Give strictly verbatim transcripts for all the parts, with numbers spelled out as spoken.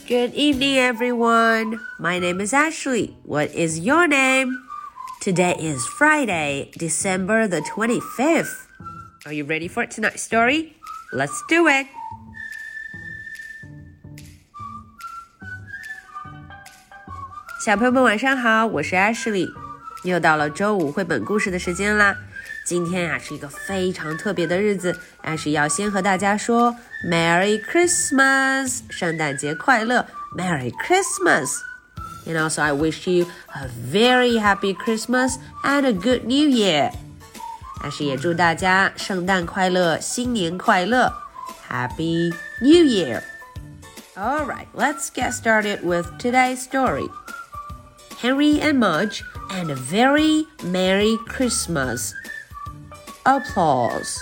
Good evening, everyone. My name is Ashley. What is your name? Today is Friday, December the twenty-fifth. Are you ready for tonight's story? Let's do it. 小朋友们晚上好，我是 Ashley。又到了周五绘本故事的时间啦。今天啊是一个非常特别的日子，但是要先和大家说 Merry Christmas， 圣诞节快乐 Merry Christmas。 And also I wish you a very happy Christmas and a good New Year。 但是也祝大家圣诞快乐，新年快乐 Happy New Year。 Alright, let's get started with today's story. Henry and Mudge and a very Merry Christmas. Applause.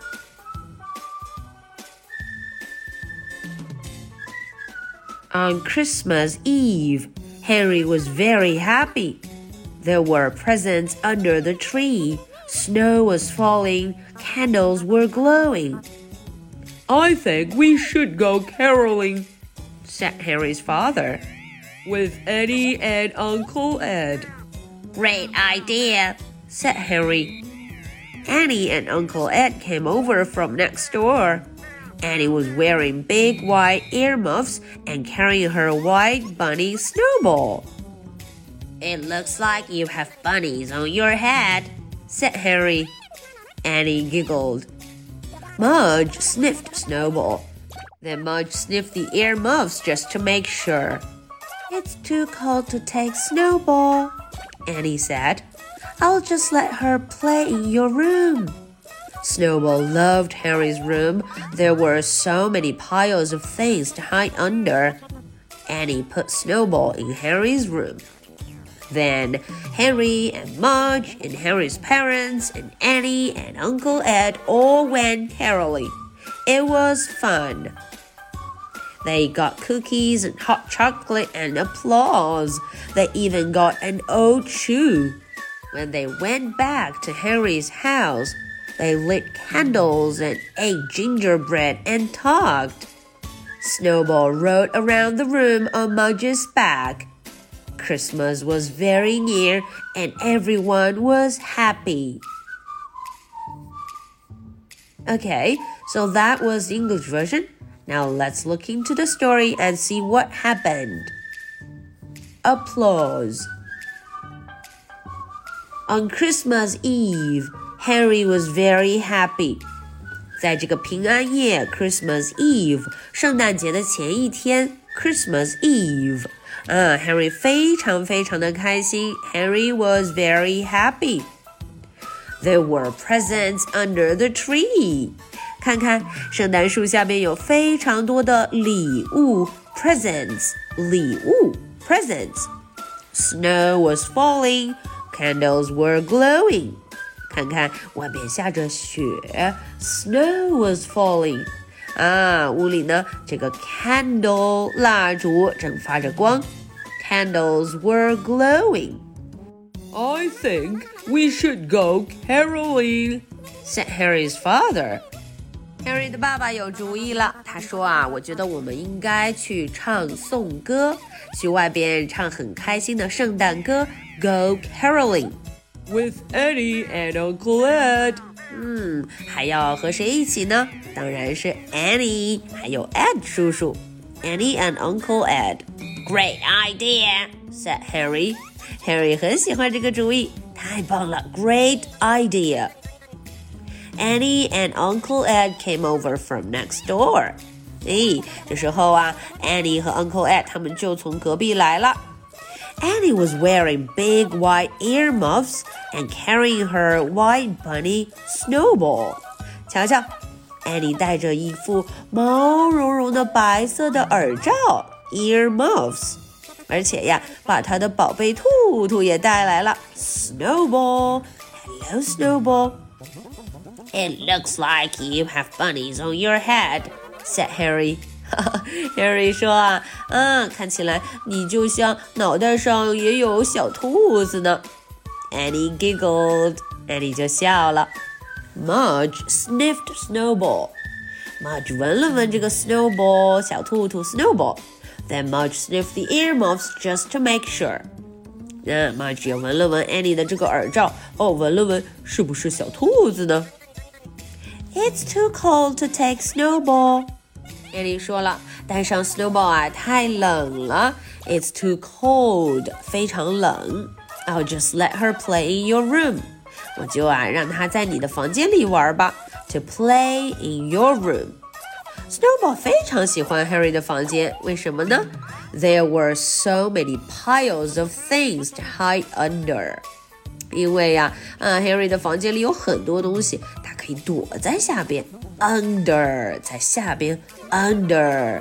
On Christmas Eve, Henry was very happy. There were presents under the tree. Snow was falling. Candles were glowing. I think we should go caroling, said Henry's father. With Eddie and Uncle Ed. Great idea, said Henry.Annie and Uncle Ed came over from next door. Annie was wearing big white earmuffs and carrying her white bunny Snowball. It looks like you have bunnies on your head, said Henry. Annie giggled. Mudge sniffed Snowball. Then Mudge sniffed the earmuffs just to make sure. It's too cold to take Snowball, Annie said.I'll just let her play in your room. Snowball loved Henry's room. There were so many piles of things to hide under. Annie put Snowball in Henry's room. Then Henry and Mudge and Henry's parents and Annie and Uncle Ed all went caroling. It was fun. They got cookies and hot chocolate and applause. They even got an old shoe.When they went back to Henry's house, they lit candles and ate gingerbread and talked. Snowball rode around the room on Mudge's back. Christmas was very near and everyone was happy. Okay, so that was the English version. Now let's look into the story and see what happened. Applause.On Christmas Eve, Henry was very happy. 在这个平安夜 Christmas Eve 圣诞节的前一天 Christmas Eve 啊 Henry 非常非常的开心 Henry was very happy. There were presents under the tree. 看看圣诞树下面有非常多的礼物 presents 礼物 presents. Snow was falling.Candles were glowing. 看看外面下着雪 Snow was falling. 啊，屋里呢这个 candle 蜡烛正发着光 Candles were glowing. I think we should go caroling, said Harry's father. Harry 的爸爸有主意了，他说啊，我觉得我们应该去唱颂歌，去外边唱很开心的圣诞歌Go caroling. With Eddie and Uncle Ed. 嗯，还要和谁一起呢？当然是 Annie 还有 Ed 叔叔 Annie and Uncle Ed. Great idea, said Harry. Harry 很喜欢这个主意，太棒了 Great idea. Annie and Uncle Ed came over from next door. 诶，这时候啊 Annie 和 Uncle Ed 他们就从隔壁来了。Annie was wearing big white earmuffs and carrying her white bunny Snowball. 瞧瞧 Annie 戴着一副毛茸茸的白色的耳罩 earmuffs 而且呀把她的宝贝兔兔也带来了 Snowball. Hello Snowball. It looks like you have bunnies on your head, said Harry. Harry 说啊，嗯，看起来你就像脑袋上也有小兔子呢。Annie giggled. Annie 就笑了。Mudge sniffed Snowball. Mudge 闻了闻这个 Snowball 小兔兔 Snowball. Then Mudge sniffed the earmuffs just to make sure. 那 Mudge 也闻了闻 Annie 的这个耳罩，哦，闻了闻是不是小兔子呢？ It's too cold to take Snowball. Annie 说了，带上 Snowball 啊，太冷了。It's too cold， 非常冷。I'll just let her play in your room. 我就啊，让她在你的房间里玩吧。To play in your room.Snowball 非常喜欢 Harry 的房间，为什么呢？ There were so many piles of things to hide under. 因为呀、啊，啊 Harry 的房间里有很多东西，他可以躲在下边。Under 在下边 ，Under.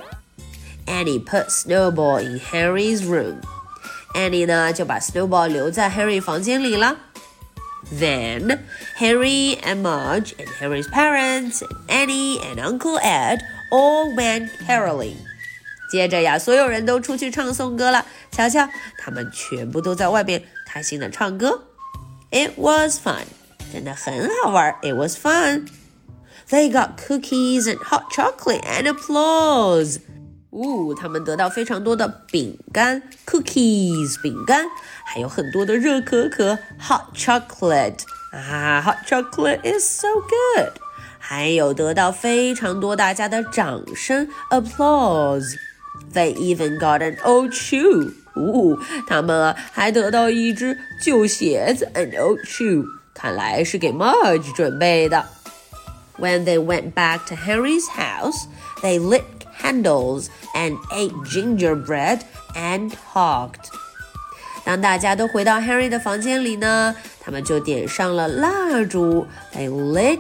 Annie put Snowball in Harry's room. Annie 呢就把 Snowball 留在 Harry 房间里了。Then, Harry and Mudge and Harry's parents and Annie and Uncle Ed all went caroling. 接着呀，所有人都出去唱颂歌了。瞧瞧，他们全部都在外边开心的唱歌。It was fun. 真的很好玩。It was fun. They got cookies and hot chocolate and applause. 呜，他们得到非常多的饼干 cookies 饼干，还有很多的热可可 hot chocolate 啊 hot chocolate is so good， 还有得到非常多大家的掌声 applause。 They even got an old shoe， 呜，他们啊还得到一只旧鞋子 an old shoe， 看来是给 Mudge 准备的。When they went back to Harry's house, they lit candles and ate gingerbread and talked. 当大家都回到 Harry 的房间里呢，他们就点上了蜡烛 They lit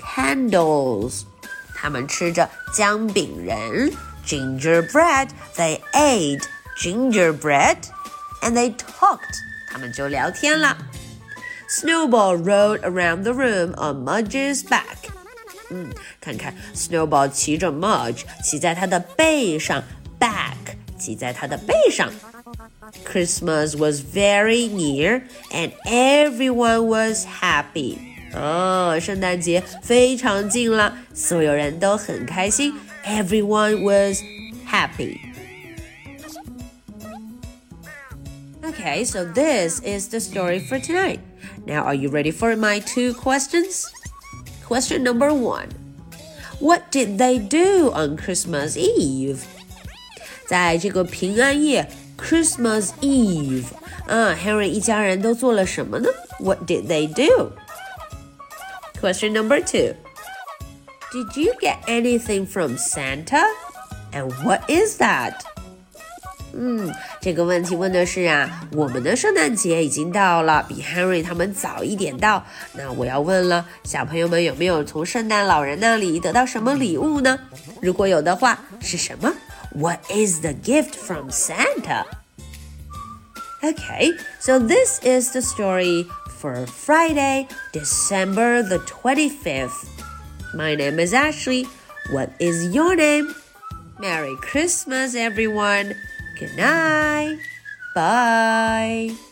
candles. 他们吃着姜饼人 gingerbread. They ate gingerbread and they talked. 他们就聊天了。Snowball rode around the room on Mudge's back.嗯，看看 Snowball 骑着 Mudge 骑在他的背上 back 骑在他的背上。Christmas was very near and everyone was happy. 哦，圣诞节非常近了，所有人都很开心。Everyone was happy. Okay, so this is the story for tonight. Now, are you ready for my two questions?Question number one. What did they do on Christmas Eve? 在这个平安夜 Christmas Eve 啊 Harry 一家人都做了什么呢？ What did they do? Question number two. Did you get anything from Santa? And what is that?嗯，这个问题问的是啊，我们的圣诞节已经到了，比 Henry 他们早一点到。那我要问了，小朋友们有没有从圣诞老人那里得到什么礼物呢？如果有的话，是什么？ What is the gift from Santa? Okay, so this is the story for Friday, December the twenty-fifth. My name is Ashley. What is your name? Merry Christmas, everyone.Good night. Bye.